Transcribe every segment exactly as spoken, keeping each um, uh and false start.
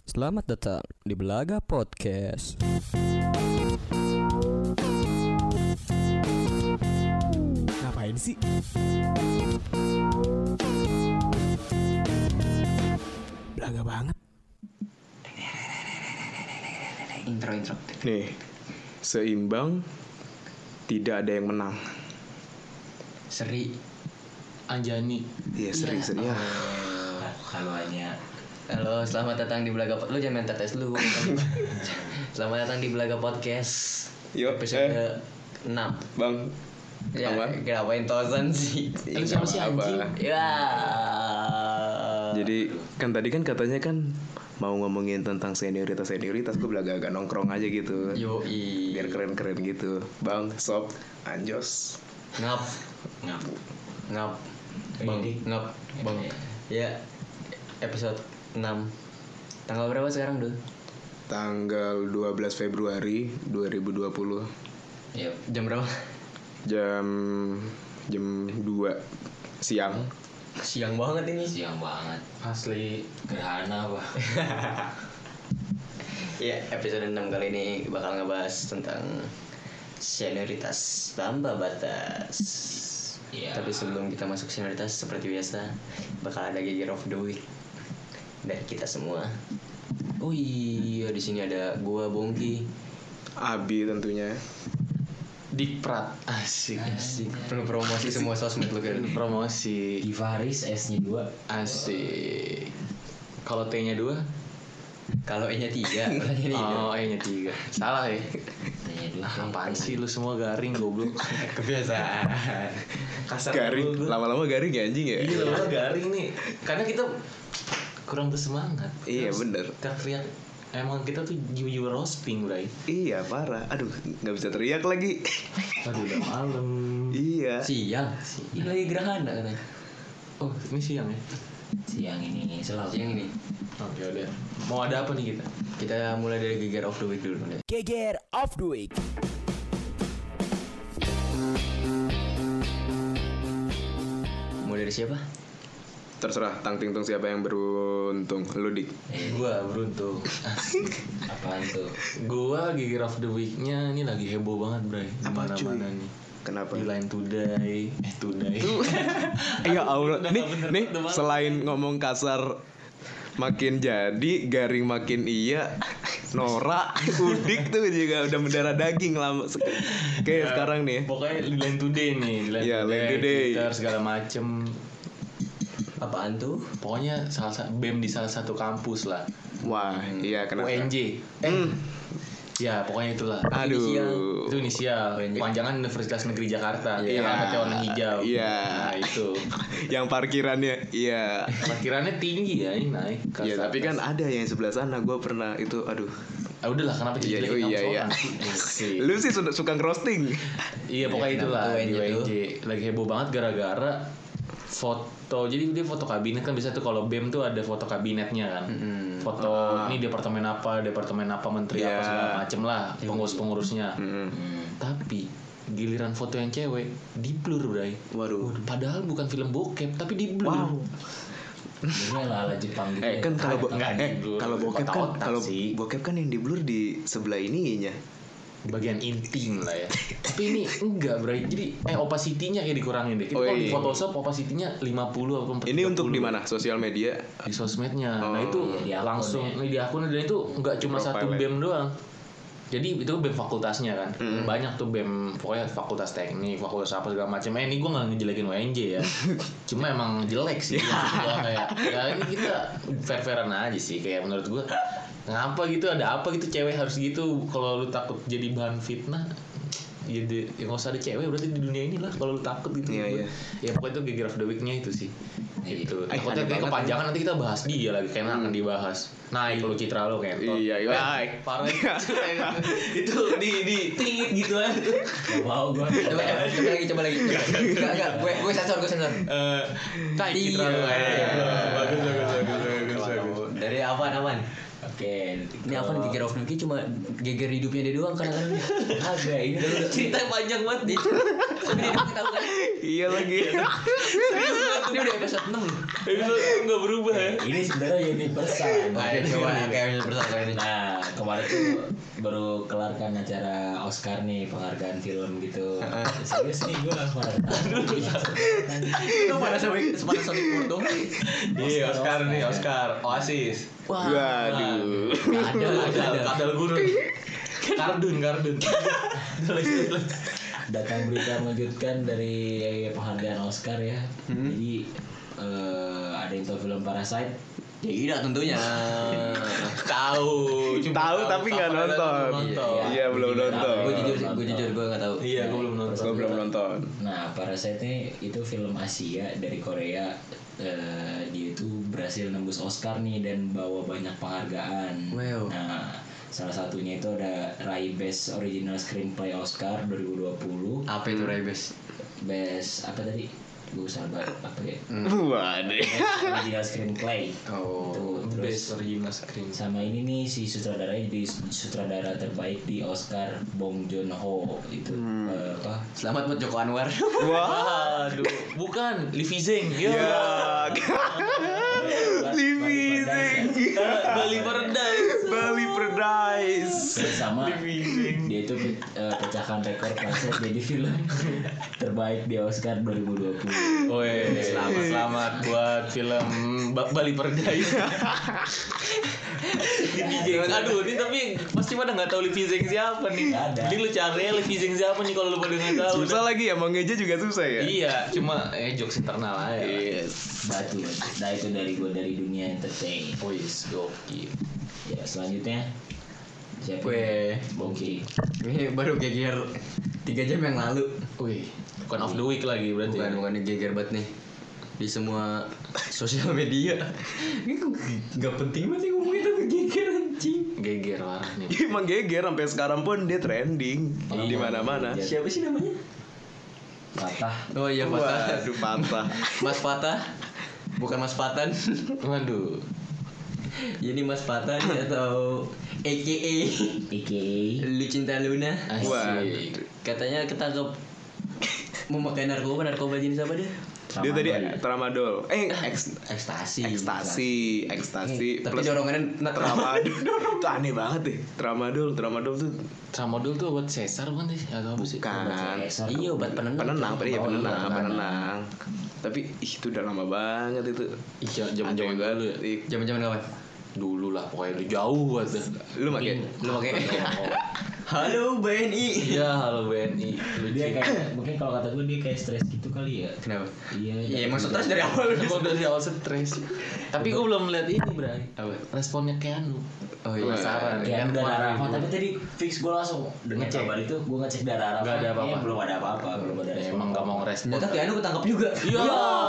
Selamat datang di Belaga Podcast. Ngapain sih? Belaga banget. Intro intro. Nih, seimbang, tidak ada yang menang. Seri Anjani. Iya, seri-seri ya. Halo Anya. Halo, selamat datang di Belaga Podcast. Lu jangan minta tes lu. Selamat datang di Belaga Podcast. Yuk, Episode eh. enam. Bang, Ya, apa? ngapain tosan sih? Iya, Lu siapa sih apa-apa. anjing? Ya. Jadi kan tadi kan katanya kan mau ngomongin tentang senioritas senioritas, gue belaga agak nongkrong aja gitu. Yoi. Biar keren-keren gitu. Bang, sob, anjos. Ngap. Ngap. Ngap. Bang, ngap. Bang. Ya. Episode enam. Tanggal berapa sekarang, Dul? Tanggal dua belas Februari dua ribu dua puluh. Iya. Jam berapa? Jam jam dua siang. Siang banget ini. Siang banget. Asli. Gerhana apa? Ya, episode enam kali ini bakal ngebahas tentang senioritas tanpa batas. Iya. Tapi sebelum kita masuk senioritas, seperti biasa bakal ada Geger of the Week dari kita semua. Oh iya, di sini ada gua Bongki, Abi tentunya. Dikprat. Asik. asik, perlu promosi semua sosmed lu kan. Promosi. Givaris S-nya dua. Asik. Kalau T-nya dua? Kalau E-nya tiga, berarti ini Oh, E-nya tiga. Salah ya? T-nya dua. Ah, apaan sih lu semua garing goblok. kebiasaan. Kasar Garing, dulu. lama-lama garing ya anjing ya. Iya, lama garing nih. Karena kita kurang bersemangat. Iya, Terus bener. Teriak. Emang kita tuh jiwa-jiwa roasting, Bray. Iya, parah. Aduh, nggak bisa teriak lagi. Aduh, udah malam. Iya. Siang, ini lagi gerhana katanya. Oh, ini siang ya? Siang ini selalu. Siang ini. Oh, ya udah. Mau ada apa nih kita? Kita mulai dari Geger of the Week dulu. Geger of the Week. Mau dari siapa? Terserah tang ting tung siapa yang beruntung. Lu Dik. Eh, Gua beruntung. apaan tuh? Gua Geger of the Week-nya ini lagi heboh banget, Bray. Di Apa, cuy? mana-mana nih. Kenapa? Di Line Today, eh Today. Ya Allah, Udah nih nggak bener, nih udah malam. selain ngomong kasar makin jadi, garing makin iya, Nora, Udik tuh juga udah mendarah daging lama sek- kayak Ya, sekarang nih. Pokoknya di Line Today nih, di Line Iya, Today, Line Today. Twitter segala macem. Apaan tuh? Pokoknya salah satu B E M di salah satu kampus lah. Wah, iya kenapa? U N J. Hmm. Ya, pokoknya itulah. Aduh. Itu inisial, U N J. panjangan Universitas Negeri Jakarta. Iya. Yang alamatnya warna hijau. Iya. Nah, itu. Yang parkirannya, iya. Parkirannya tinggi ya, ini naik. ke Iya, atas. tapi kan ada yang sebelah sana. Gue pernah itu, aduh. Ah, udahlah, kenapa Iya, jadi oh, iya, iya. Lu sih sudah suka ngerosting. Iya, pokoknya Iya, itulah kenapa di U N J U N J. Lagi heboh banget gara-gara foto. Jadi dia foto kabinet kan, bisa tuh kalau B E M tuh ada foto kabinetnya kan. Mm-mm. Foto Ah. ini departemen apa, departemen apa, menteri Iya. apa segala macem lah, pengurus-pengurusnya. Mm-mm. Hmm. Tapi giliran foto yang cewek di blur, Bray. Waduh. Padahal bukan film bokep, tapi di blur. Wow. Ini ala-ala Jepang gitu. Eh kan kalau bo- Nggak eh di blur. kalau bokep kan Otak-otak kalau sih. bokep kan yang di blur di sebelah ininya. Bagian intim lah ya. Tapi ini enggak, Bray. Jadi eh opacity-nya kayak dikurangin deh. Kita Oh, kalau di iya. Photoshop opacity-nya lima puluh apa Ini untuk di tiga puluh. mana? Sosial media. Di sosmednya. Oh, Nah itu di akun langsung ya. ini di akun, dan itu nggak cuma satu Profile. B E M doang. Jadi itu B E M fakultasnya kan. Mm. Banyak tuh B E M, pokoknya fakultas teknik, fakultas apa segala macam. Eh ini gue nggak ngejelekin U N J ya. Cuma emang jelek sih. Maksud gua kayak ya ini kita fair-fairan aja sih, kayak menurut gue. Ngapa gitu, ada apa gitu cewek harus gitu? Kalau lu takut jadi bahan fitnah, ya, di, ya nggak usah ada cewek berarti di dunia ini lah. Kalau lu takut gitu. Iya, iya. Ya pokoknya itu Geger of the Week-nya itu sih. Iya. Gitu. Eh, Takutnya aneh kayak banget kepanjangan, nanti kita bahas dia lagi, kayaknya akan dibahas. Naik lu citra lu kayak Iya, iya. Eh, parah itu di di tingit gitu kan. Gak mau gue. Coba, coba, coba lagi, coba lagi. Enggak, enggak. Gue gue sensor, gue sensor. Eh, naik citra lu. Iya. Eh, bagus bagus bagus bagus bagus. Dari apaan apaan? Oke, Ini apa nih geger of the week cuma geger hidupnya dia doang kadang-kadang. Agak ini dulu. Cerita panjang banget dia. Tapi dia udah tahu kan. Iya lagi. Ini udah episode enam loh. Itu nggak berubah ya. Ini sebenarnya universal. Oke, coba kayak universal kayak ini. Nah, kemarin tuh baru kelar kan acara Oscar nih, penghargaan film gitu. Serius nih gue kemarin. Itu pada Sonic pada Sonic Porto. Iya, Oscar nih, Oscar, Oasis. Wah. Waduh. Ada ada Kadal, kadal gurun. Kardun, kardun. Datang berita mengejutkan dari penghargaan Oscar ya. Hmm. Jadi eh, ada yang tahu film Parasite. Tidak tentunya. Tahu, cuma Tahu tapi nggak Sama nonton. Dada belum nonton. Iya, belum nonton. Gue jujur gue jujur gue nggak tahu. Iya, gue belum nonton. Gue belum nonton. Nah, Parasite ini itu film Asia dari Korea. Eh, dia itu berhasil nembus Oscar nih dan bawa banyak penghargaan. Wow. Nah, salah satunya itu ada raih Best Original Screenplay Oscar dua ribu dua puluh. Apa itu Raibes? Best apa tadi? Gue sabar apa ya? Waduh. Best Original Screenplay. Oh. Tuh, terus Best original screen. sama ini nih si sutradaranya jadi sutradara terbaik di Oscar Bong Joon Ho itu eh, apa? Selamat buat Joko Anwar. Wah. Aduh, bukan Livi Zeng. Ya. Ya. Livi Zeng. Bali Paradise. Bali Paradise. Terus sama dia itu eh, pecahkan rekor Parasite jadi film terbaik di Oscar dua ribu dua puluh. Woi, selamat selamat buat film Ba- Bali Paradise. Livi Zeng. Aduh, ini tapi pasti pada nggak tahu Livi Zeng siapa nih. Nggak ada. Jadi lu cari Livi Zeng siapa nih kalau lu pada nggak tahu. Susah lagi ya, mau ngeja juga susah ya. Iya, cuma eh jokes internal aja. Yes. Batu. Nah itu dari gue dari dunia entertain. Wis, gokil. Ya selanjutnya siapa? Weh. Bongki. Ini baru geger tiga jam yang lalu. Wih, bukan of the week lagi berarti. Bukan bukan ini geger banget nih di semua sosial media. Ini kok nggak penting banget sih ngomongin tapi geger anjing. Geger parah nih. Emang geger sampai sekarang pun dia trending di mana-mana. Siapa sih namanya? Patah. Oh iya Patah. Waduh, patah. Mas Patah. Bukan Mas Patan. Waduh. Jadi Mas Patan atau A K A A K A Lu Cinta Luna. Asik. Katanya ketangkep memakai narkoba. Narkoba jenis apa dia? Dia tadi tramadol. Eh, eks, Ekstasi. ekstasi, ekstasi Tapi plus dorongannya na- tramadol. Itu aneh banget deh. Tramadol, tramadol tuh Tramadol tuh obat sesar bukan sih? Atau apa sih? kan Iya obat penenang. penenang, iya Oh, penenang, iya, penenang. Tapi ih, itu udah lama banget itu. Iya, zaman-zaman Aneh banget. dulu ya. Ih, Zaman-zaman kapan? Dulu lah, pokoknya udah jauh banget. dah. Lu pakai Lu pakai. Halo B N I. Iya, halo B N I. dia kayak mungkin kalau kata gue dia kayak stres gitu kali ya. Kenapa? Iya. Ya emang stres dari awal. Emang dari awal stres. Tapi gue belum melihat ini, Bray. Apa? Responnya Keanu. Oh iya. Penasaran. Kayak Kan darah kemarin Arafat, gua- tapi tadi fix gue langsung dengan Ngecek. kabar itu gue ngecek darah Arafat. Nggak ada apa-apa. kayaknya belum ada apa-apa, belum ada Ya, respon. emang gak mau ngerespon. Ternyata Keanu ketangkep juga. Iya.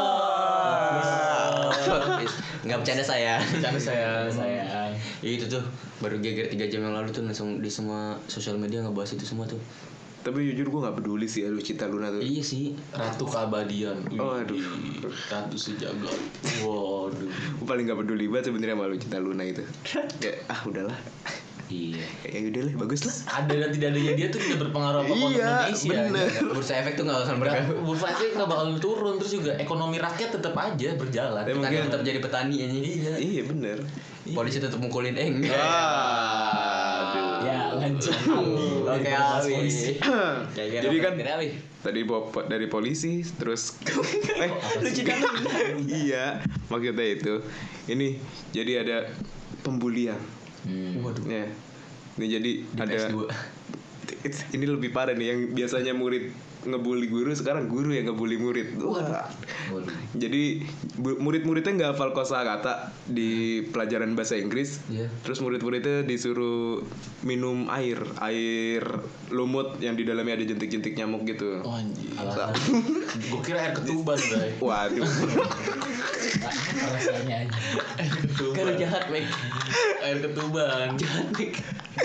Nggak bercanda saya. Bercanda saya. Saya Ya itu tuh baru geger tiga jam yang lalu tuh langsung di semua sosial media ngebahas itu semua tuh. Tapi jujur gue gak peduli sih ya Lu Cinta Luna tuh. Iya sih. Ratu keabadian. Oh, aduh. Wih, Ratu sejagat. Waduh. Gue paling gak peduli banget sebenarnya sama Lu Cinta Luna itu. Ya ah udahlah. iya. Ya udah lah, bagus lah. Ada dan tidak adanya dia tuh tidak berpengaruh apa untuk Iya, Indonesia. bener. Bursa efek tuh nggak akan bergabung. Bursa efek nggak bakal turun, terus juga ekonomi rakyat tetap aja berjalan. Ya, Petani mungkin- tetap jadi petani aja. Iya. Iya bener. Polisi tetap mukulin eng. Ah, aduh. Ya lanjut. Oke, Awi. Jadi kan Awi. tadi po- po- dari polisi terus eh Lu Cinta Luna. iya maksudnya itu ini jadi ada pembulian. Hmm. Waduh. Ya. Ini jadi Di ada P S dua. ini lebih parah nih yang biasanya murid ngebully guru sekarang guru yang ngebully murid. Wah. Waduh. Jadi bu- murid-muridnya nggak hafal kosakata di pelajaran bahasa Inggris. Iya. Terus murid-muridnya disuruh minum air, air lumut yang di dalamnya ada jentik-jentik nyamuk gitu. Oh anjir. Alasan Gue kira air ketuban, Bray. Waduh. rasanya aja. Kan lu jahat, Mek. Air ketuban. Jahat, Mek.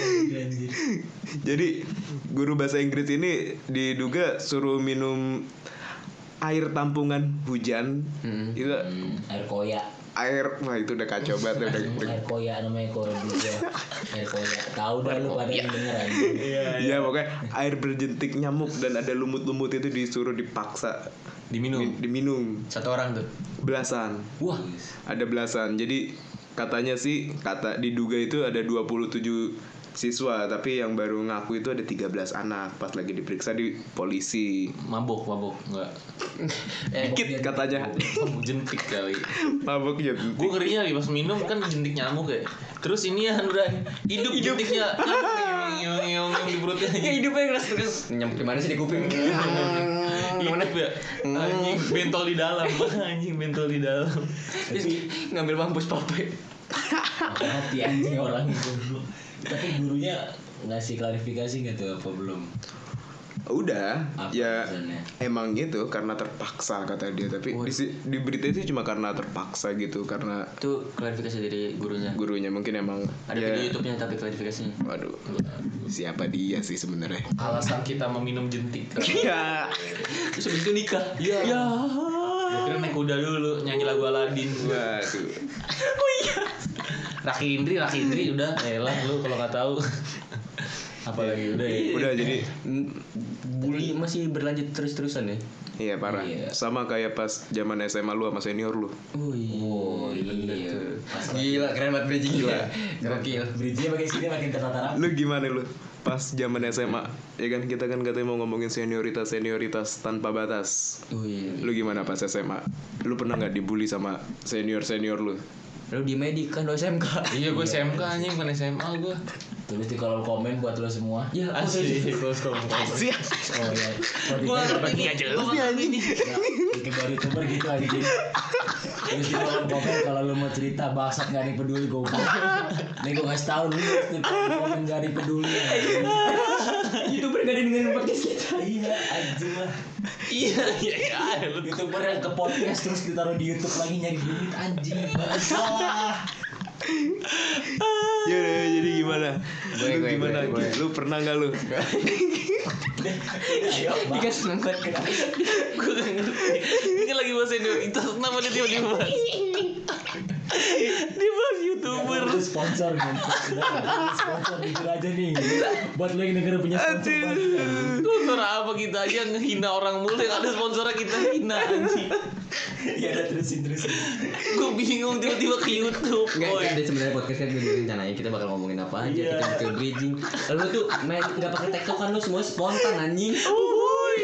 Jadi guru bahasa Inggris ini diduga suruh minum air tampungan hujan. Hmm. Itu Hmm, air koya. air, wah itu udah kacau banget udah. Emang air koya namanya koya juga. Air koya. Tahu dah lu pada yang denger aja. Iya pokoknya air berjentik nyamuk dan ada lumut-lumut itu disuruh dipaksa Diminum. Di- diminum Satu orang tuh. belasan. Wah, Ada belasan. Jadi katanya sih kata diduga itu ada dua puluh tujuh siswa, tapi yang baru ngaku itu ada tiga belas anak pas lagi diperiksa di polisi. Mabok, mabok enggak. Eh, Dikit katanya. Mabuk jentik kali. Mabuk ya. Gue ngerinya lagi pas minum kan jentik nyamuk ya. Terus ini ya udah hidup jentiknya. Yang di perutnya. Ya hidupnya keras terus. Nyamuk di mana sih di kuping? Hidup ya. Anjing bentol di dalam. Anjing bentol di dalam. Terus ngambil mampus pape. hati anjing orang itu. Tapi gurunya ngasih klarifikasi nggak tuh apa belum? Udah, Apa ya alasannya? emang gitu karena terpaksa kata dia. Tapi di, si- di berita itu cuma karena terpaksa gitu, karena Itu klarifikasi dari gurunya. gurunya mungkin emang Ada ya, video YouTube-nya tapi klarifikasinya. Waduh, siapa dia sih sebenarnya? Alasan kita meminum jentik. Iya. Terus habis itu nikah. Ya. Ya. Gue kira naik kuda dulu nyanyi lagu Aladin. Waduh. Raki Indri, Raki Indri udah. Elah lu kalau nggak tahu. Apalagi udah ya. Udah jadi Bully masih berlanjut terus-terusan ya. iya parah. Iya. Sama kayak pas zaman S M A lu sama senior lu. Oh Oh iya. Pas Gila, keren banget bridging gila. Gokil. bridge-nya makin sini makin tertata rapi. Lu gimana lu? Pas zaman S M A, ya kan kita kan katanya mau ngomongin senioritas senioritas tanpa batas. Oh iya. Lu gimana pas S M A? Lu pernah nggak dibully sama senior senior lu? Lu di medik kan lu S M K. Iya gue S M K anjing bukan S M A gue. Tulis di kolom komen buat lo semua. Ya, Asli. Terus kalau Asik. Oh iya. gue ngerti nih aja lu ini. Bikin baru youtuber gitu aja. Terus di kolom komen kalau lo mau cerita bangsat nggak ada yang peduli gue. Nih gue ngasih tahu lu di kolom komen nggak ada yang peduli. YouTuber gak ada yang dengerin podcast kita. Iya anjing lah. Iya iya iya. Lu Youtuber yang ke podcast terus ditaruh di YouTube lagi nyari duit anjing. Bangsat. Ya udah, jadi gimana? Gue, lu gue, gimana? gue, gue. Lu pernah nggak lu? Ayo Dia kan seneng banget kan. gue gak ngerti. Ini kan lagi bahas senioritas. Kenapa dia tiba-tiba bahas? Dia bahas YouTuber. Itu sponsor kan. Udah, sponsor jujur aja nih. Buat lo yang negara punya sponsor banget. Sponsor apa kita aja ngehina orang mulu, yang ada sponsornya kita hina anjing. Ya udah terusin terusin. Gue bingung tiba-tiba ke YouTube. Enggak, Boy. kan ada sebenarnya podcast kan udah direncanain kita bakal ngomongin apa aja, Iya. kita ke bridging. Lalu tuh main enggak pakai tektokan lu semua spontan anjing. Uhuy.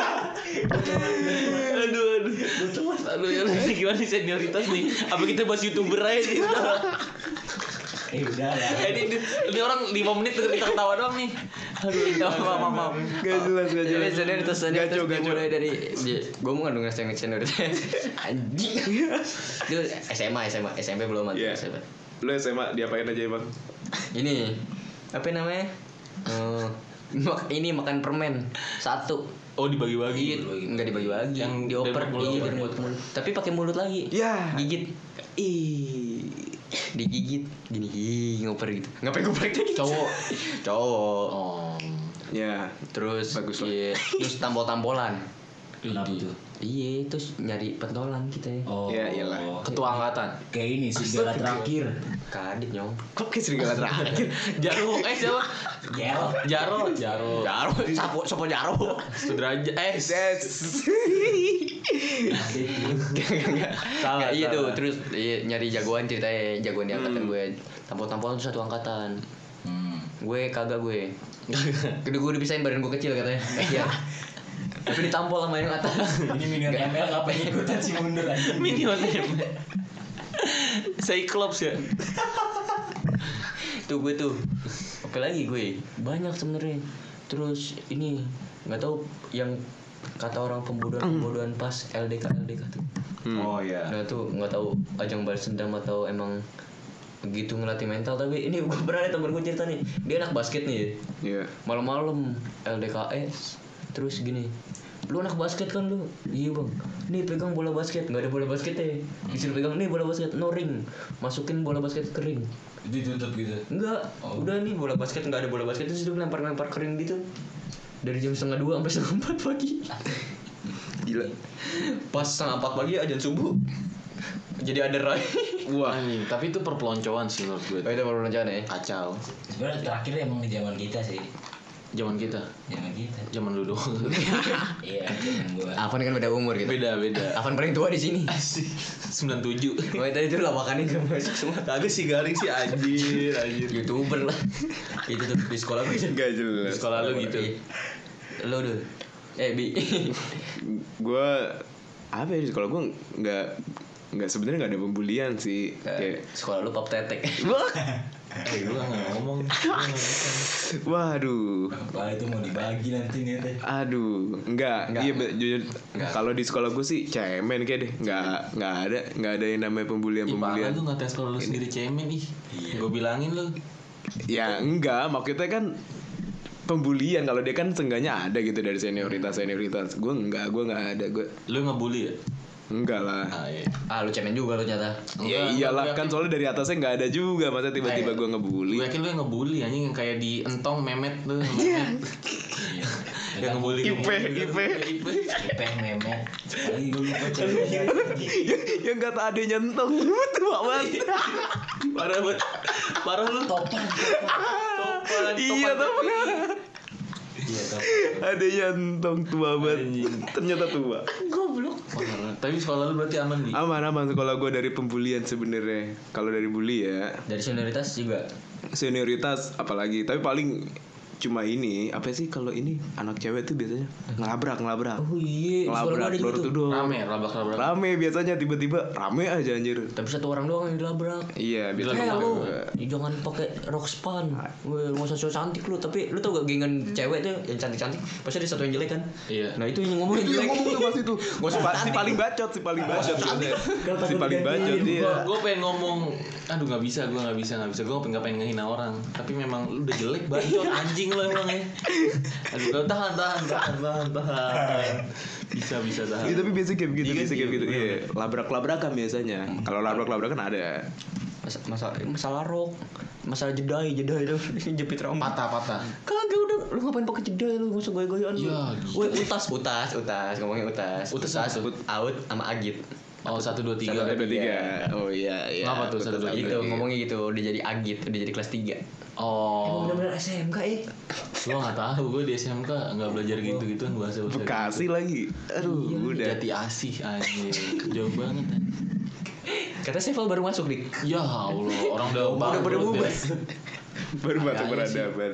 Aduh aduh. Aduh ya ini gimana nih senioritas nih? Apa kita bahas YouTuber aja nih? Eh udah lah. Eh, ini, ini, ini orang lima menit denger kita ketawa doang nih. Aduh, maaf maaf maaf. Gak jelas, gak Jadi jelas. senioritas senioritas Gaco, gaco. dimulai dari gue mau ngandung ngasih senioritas anjing. Itu S M A S M A S M P belum ada Iya. S M P. Lu S M A diapain aja emang? Ini apa namanya? Eh, mak- ini makan permen satu. Oh dibagi-bagi. Enggak dibagi-bagi, Yang yang dioper dari mulut, iya, dari dari mulut. mulut. Tapi pakai mulut lagi. Ya. Gigit. Ih. Digigit gini ih, ngoper gitu. Ngapain ngoper gitu? Cowok. Cowok. Oh. Ya. Terus Bagus lah. iya, terus tampol-tampolan. Kenapa tuh? Iya, terus nyari pentolan kita ya. Oh. Ya, iyalah. Ketua angkatan. Kayak ini serigala terakhir. Kadit nyong. Kok kayak serigala terakhir? Jaro, eh siapa? Gel. Jaro, Jaro. Jaro, sapo sapo Jaro. Sudraja, eh Yes. salah. Nggak, iya tuh, salah. terus iya, nyari jagoan ceritanya, jagoan di angkatan gue. Tampol-tampolan tuh satu angkatan. Hmm. Gue kagak gue. Kedua gue dipisahin badan gue kecil katanya. Kasihan. Tapi ditampol sama yang atas. Ini minion M L ngapain ikutan sih mundur aja. Minion Cyclops ya. Tuh gue tuh. Apa lagi gue? Banyak sebenarnya. Terus ini nggak tahu yang kata orang pembodohan-pembodohan pas L D K L D K tuh. Oh iya. Nah tuh nggak tahu ajang balas dendam atau emang begitu ngelatih mental, tapi ini gue pernah ada temen gue cerita nih, dia anak basket nih, Iya. malam-malam L D K S terus gini, lu anak basket kan lu, iya bang, nih pegang bola basket, nggak ada bola basket ya, disuruh pegang nih bola basket, no ring, masukin bola basket ke ring, Ditutup gitu. enggak, Oh. udah nih bola basket nggak ada bola basket, terus dia lempar-lempar ke ring gitu, dari jam setengah dua sampai setengah empat pagi, Gila. pas setengah empat pagi ajan subuh, Jadi ada Roy. Wah, Anjing, tapi itu perpeloncoan sih menurut gue. Oh itu baru rencana ya. Kacau. Sebenarnya terakhir emang di zaman kita sih. Zaman kita, Zaman kita. zaman lu doang. Iya, zaman gua. Afan kan beda umur gitu. Beda beda. Afan paling tua di sini. Asik. sembilan puluh tujuh. Oh tadi itu lawakannya gak masuk semua. Kagak sih garing sih anjir, anjir. YouTuber lah. Itu tuh di sekolah gue. nggak Di jelas. sekolah lu gitu. Lo dulu. Eh bi. Gue apa ya, kalau gue nggak nggak sebenarnya nggak ada pembulian sih. Kayak Sekolah lu pop tetek. Eh gua enggak ngomong. Gua nggak bisa. waduh, Wah itu mau dibagi nanti nih teh. aduh, enggak, Nggak. iya be- jujur. Nggak. Kalau di sekolah gue sih cemen kayak deh, nggak nggak ada nggak ada yang namanya pembulian Ih, parah pembulian. lu ngatain sekolah lu sendiri cemen ih. Gua bilangin lu. Ya enggak, maksudnya kan pembulian kalau dia kan seenggaknya ada gitu dari senioritas senioritas. Gue enggak, gue nggak ada, gue Lu ngebully ya? enggak lah. Ah iya. Ah lu cemen juga lu nyata. Ya Enggak, iyalah gua kan yakin- soalnya dari atasnya nggak ada juga, masa tiba-tiba Eh, gue ngebully. Gue yakin lu yang ngebully anjing yang kayak di entong memet tuh, memet. Yang ngebully. Ipe, Ipe. Ipe. Ipeh memet. Sekali gue lupa ceweknya. Yang kata adenya entong tua banget. Parah banget. Parah lu. Topan. Topan. Iya topan topan. tapi- Iya topan. Adenya entong tua banget. Ternyata tua. Parah. Tapi sekolah lu berarti aman di. Aman aman sekolah gue dari pembulian sebenarnya. Kalau dari bully ya, Dari senioritas juga. senioritas apalagi. Tapi paling cuma ini apa sih kalau ini anak cewek tuh biasanya ngelabrak ngelabrak Oh iya, sekolah gua ngelabrak ada door gitu. to door. Rame, labrak-labrak. Rame biasanya tiba-tiba rame aja anjir. Tapi satu orang doang yang dilabrak. Iya Eh biasanya lu gitu. jangan pakai rok span. Gue nggak usah so cantik lu. Tapi lu tau gak gengan cewek tuh yang cantik-cantik pasti ada satu yang jelek kan? Iya. Nah itu yang ngomongin Itu yang jelek. ngomong tuh pasti tuh. Gak usah Pa- si cantik. paling bacot, si paling bacot biasanya. Si paling bacot Gue dia. gue pengen ngomong, aduh nggak bisa, gue nggak bisa nggak bisa, gue nggak pengen ngehina orang, tapi memang lu udah jelek bacot anjing lu emang ya. Aduh gua tahan tahan tahan tahan tahan, bisa bisa tahan. Iya tapi biasa kayak begitu, Iya, biasa kayak iya, begitu. bener, Iya, labrak-labrakan biasanya. Kalau labrak-labrakan ada. Mas- masalah masalah rok, masalah jedai jedai itu jepit rambut. Patah patah. Kagak udah, lu ngapain pakai jedai lu nggak usah goyang-goyangan lu. Ya, Woi utas utas utas ngomongin utas. Utas apa tuh? out sama agit. Oh satu dua tiga. Satu, dua, tiga. Oh iya, iya. Kenapa tuh, satu, dua, Betul, tiga? Itu betul. ngomongnya gitu udah jadi agit, udah jadi kelas tiga. Oh, Bener-bener S M K eh. gue nggak tahu, gue di S M K nggak belajar gitu gituan bahasa bahasa. Bekasi lagi. Aduh, udah. Jati Asih anjing, jauh banget. Anjing. Kata Seval baru masuk dik. Ya Allah, orang udah Udah pada bangkrut bubar. ya. Baru masuk Makanya sih. peradaban.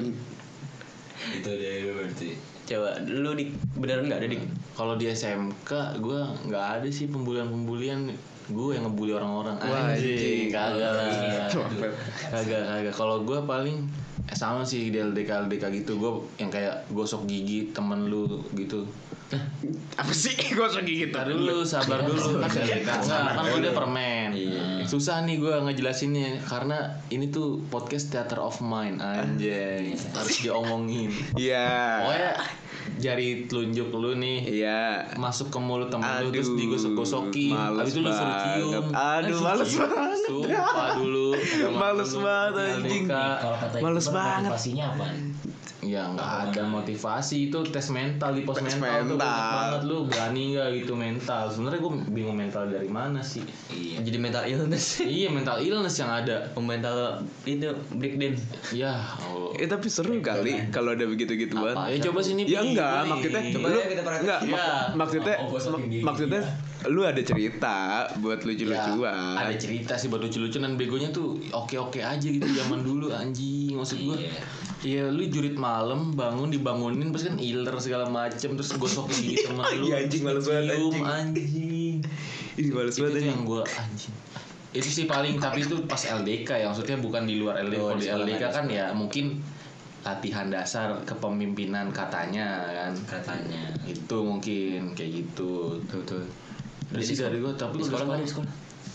Itu deh berarti. Coba lu dik beneran nggak ada dik? Kalau di S M K gue nggak ada sih pembulian-pembulian. Gue yang ngebully orang-orang. Wah, anjing. Kagak lah. Coba. Kagak kagak. Kalau gue paling eh, sama sih di L D K L D K gitu. Gue yang kayak gosok gigi temen lu gitu. Apa sih gosok gigi gitu? Ntar dulu, sabar dulu kan L D K. Nggak, kan gue dia permen. Susah nih gue ngejelasinnya karena ini tuh podcast theater of mind anjay. Harus diomongin. Iya. Pokoknya jari telunjuk lu nih Iya. masuk ke mulut temen lu terus Aduh, digosok-gosokin. males Habis itu lu suruh cium. banget. Aduh, Eh, males cium. banget. Sumpah dulu. Males Dulu, banget, L D K. anjing. Kalau kata Males YouTuber, banget. motivasinya apa? Ya nggak ada motivasi, itu tes mental di pos Tes mental, tuh mental. banyak banget lu berani nggak gitu mental. Sebenarnya gue bingung mental dari mana sih? Iya. Jadi mental illness. Iya mental illness yang ada. mental itu breakdown. Ya Allah. Eh tapi seru kali kalau ada begitu-gituan. Ya coba sini. Ya Pi. enggak, Pi. maksudnya Coba lu ya kita perhatiin. enggak mak- Ya. maksudnya Oh, gosokin mak- gigi. maksudnya lu ada cerita buat Ya, lucu-lucuan. ada cerita sih buat lucu-lucuan dan begonya tuh oke-oke aja gitu zaman dulu anjing maksud gua. Iya. Iya lu jurit malam bangun dibangunin terus kan iler segala macem terus gosok gigi temen lu. Iya, anjing, terus males banget, dicium, anjing. anjing. Ih males Itu banget tuh anjing. yang gua anjing. Itu sih paling tapi itu pas L D K ya maksudnya bukan di luar L D K. Oh, Kalau di di L D K sekolah kan ya mungkin latihan dasar kepemimpinan katanya kan. Katanya. Itu mungkin kayak gitu. Tuh tuh. Dari sih dari gua tapi Di udah sekolah nggak ada sekolah. di sekolah.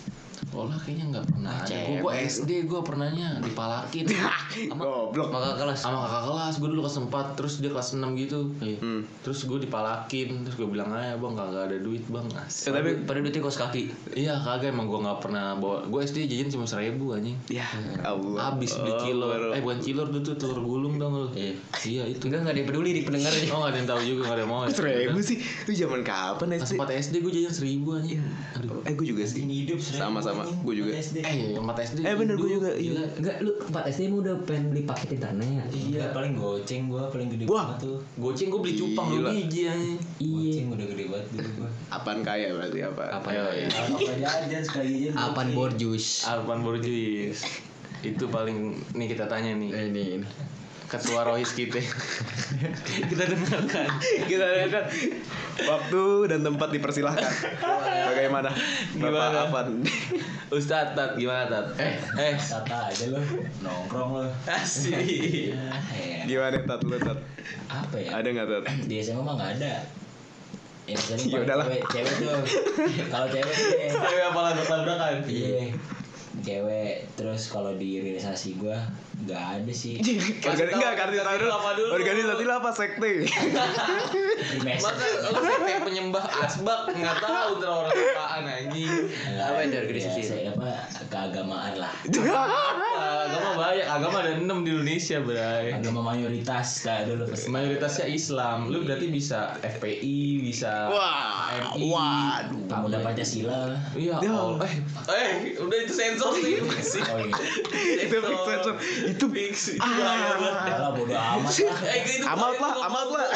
Sekolah kayaknya nggak pernah ada. Gue gue S D gue pernahnya dipalakin sama Goblok. Maka kelas. sama kakak kelas. Gue dulu kelas empat, terus dia kelas enam gitu. Iya. Hmm. Terus gue dipalakin, terus gue bilang aja bang kagak ada duit bang. Asik. Eh, tapi Pada duitnya kos kaki. Iya kagak emang gue nggak pernah bawa. Gue S D jajan cuma seribu anjing. ya Allah. Habis beli kilor. Eh bukan kilor dulu tuh telur gulung dong lu. Iya. Iya itu. Enggak enggak ada yang peduli di pendengarnya. Oh nggak ada yang tahu juga, nggak ada yang mau. Ya. Seribu sih. Itu zaman kapan Kelas S D? empat S D gue jajan seribu anjing. Aduh. Eh gue juga sih. Ini hidup seribu, Sama-sama, anjing, gua juga. S D. Eh iya empat S D. Eh bener gue juga. Gila. Enggak, lu empat S D emang udah pengen beli paket internet. Iya, paling goceng gua paling gede Wah. banget tuh. Goceng gue beli cupang Gila. dua biji anjing. Goceng udah gede banget dulu gua. Apaan kaya berarti apa? Apa Ayo, ya? iya. Apa jajan sekali jajan. Apaan goceng. borjus? Arpan Borjuis. Itu paling nih kita tanya nih. Ini ini. Ketua Rohis kita. Kita dengarkan. Kita lihat waktu dan tempat dipersilahkan. Bagaimana? Bapak Gimana? Afan. Ustadz Tat gimana Tat? Eh, eh. Kata aja lo, nongkrong lo. Asik. Ya, Gimana Tat lu Tat? apa ya? Ada nggak Tat? Di S M A mah nggak ada. Ya misalnya Ya paling udahlah. cewek, cewek tuh. Kalau cewek sih deh. Cewek apa lagu tabrakan? Iya. Cewek terus kalau di organisasi gua nggak ada sih. Organi enggak organisasi dulu. apa dulu? Organisasi lu apa sekte? Di mes. Masa lu kayak penyembah asbak nggak tahu ntar orang apaan anjing. Apa itu organisasi? Ya, saya apa keagamaan lah. Apa? Agama banyak, agama ada enam di Indonesia, Bray. Agama mayoritas kayak dulu pas. Mayoritasnya Islam. Lu berarti bisa F P I, bisa Wah, M I. waduh. Pemuda Pancasila. Iya, Ya. oh, eh, eh, udah itu sensor sih. Oh iya. Itu fix sensor. Itu fix. Itu Ah. bahaya banget. Kalau bodo amat lah. Eh, itu Amat lah, amat lah.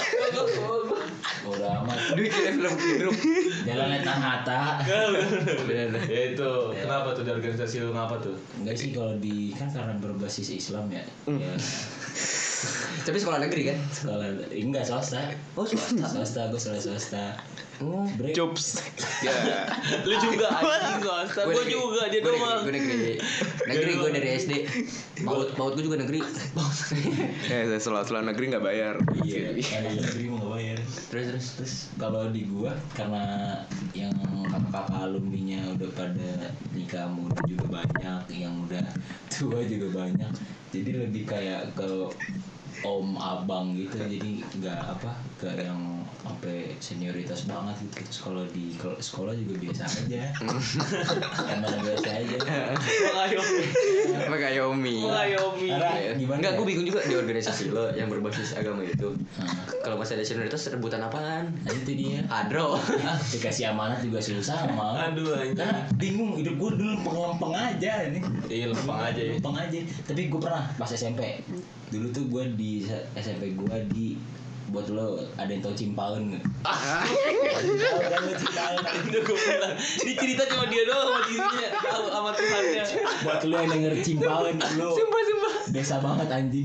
Bodo amat. Duit kira film grup. Jalan Tan Hatta. Bener. Ya itu. Kenapa tuh di organisasi lu ngapa tuh? Enggak sih kalau di kan karena berbasis Islam ya. Ya Tapi sekolah negeri kan? sekolah enggak swasta. Oh, swasta. Swasta gue sekolah swasta. Oh, Break. Cups. Ya. Lu juga anjing swasta. Gua negeri. juga dia Gua doang. negeri, Gua negeri. Negeri gue dari S D. Paut paut gue juga negeri. Eh, saya sekolah-sekolah negeri nggak bayar. Iya, ada yang negeri mau nggak bayar. Terus terus. Terus kalau di gua karena yang kakak-kakak alumninya udah pada nikah muda juga banyak, yang udah tua juga banyak. Jadi lebih kayak ke om abang gitu, jadi nggak apa ke yang sampai senioritas banget gitu. Terus kalau di kalau sekolah juga biasa aja, emang biasa aja. Mengayomi. Apa kayak Yomi? Mengayomi. Karena gimana? Enggak, ya? gue bingung juga di organisasi lo yang berbasis agama itu. Nah, Kalau masih ada senioritas rebutan apaan? nah itu dia. Adro. Ah, dikasih amanat juga susah mau. Aduh anjing. Karena bingung, hidup gue dulu lempeng-lempeng aja ini. Iya, lempeng aja ya. Lempeng aja. Tapi gue pernah pas S M P. Dulu tuh gue di S M P gue di buat lo ada yang tau Cimpaun nggak? Tahu kan lo Cimpaun? Udah gue bilang. Ini cerita cuma dia doang sama dirinya, tahu sama Tuhannya. Buat lo yang denger Cimpaun, lo Sumpah sumpah. desa banget anjing.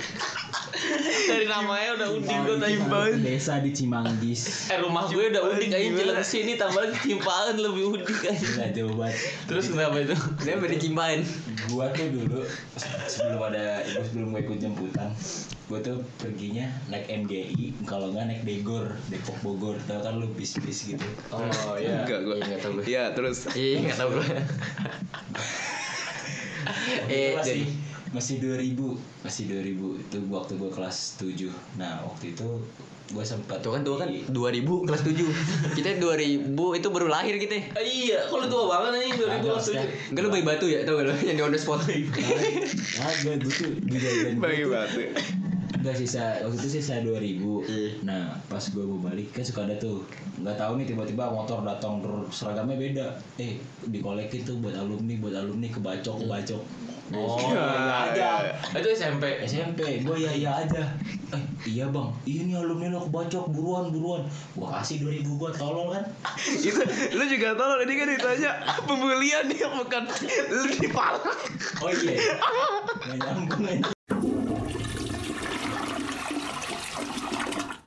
Dari namanya udah udik gue tadi. Cimpaun itu desa di Cimanggis. Eh rumah gue udah udik aja jalan sini tambah lagi Cimpaan lebih udik aja. Gila jauh banget. Terus kenapa itu? Dia beda cimpain. Gua tuh dulu sebelum ada ibu sebelum gue ikut jemputan, gua tuh perginya naik M G I, kalau nggak naik Degor, Depok Bogor, tau kan lu bis-bis gitu. Oh iya. Enggak gua. Iya, nggak tahu gue. Iya, terus Iya, enggak tahu gue. Eh, Eh, masih jadi- masih dua ribu, masih dua ribu itu waktu gua kelas tujuh. Nah, waktu itu gua sempat Tuh kan tuh kan dua ribu kelas tujuh. Kita dua ribu itu baru lahir kita. Ah, iya, kalau tua banget nih dua ribu Agak, tujuh. Enggak lu bayi batu ya, tau gak lu yang di on the spot. Ah, gue tuh di jajan bagi batu. Enggak sisa waktu itu sisa dua ribu. Iya. Nah, pas gue mau balik kan suka ada tuh. Enggak tahu nih tiba-tiba motor datang terus seragamnya beda. Eh, dikolekin tuh buat alumni, buat alumni kebacok, kebacok. Oh, iya aja. itu S M P. S M P, gue ya iya aja. Eh, iya bang, iya nih alumni lo kebacok, buruan, buruan. Gua kasih dua ribu gue, tolol kan. Itu lu juga tahu ini kan ditanya pembulian dia bukan lu dipalak. Oh iya, nggak nyambung aja.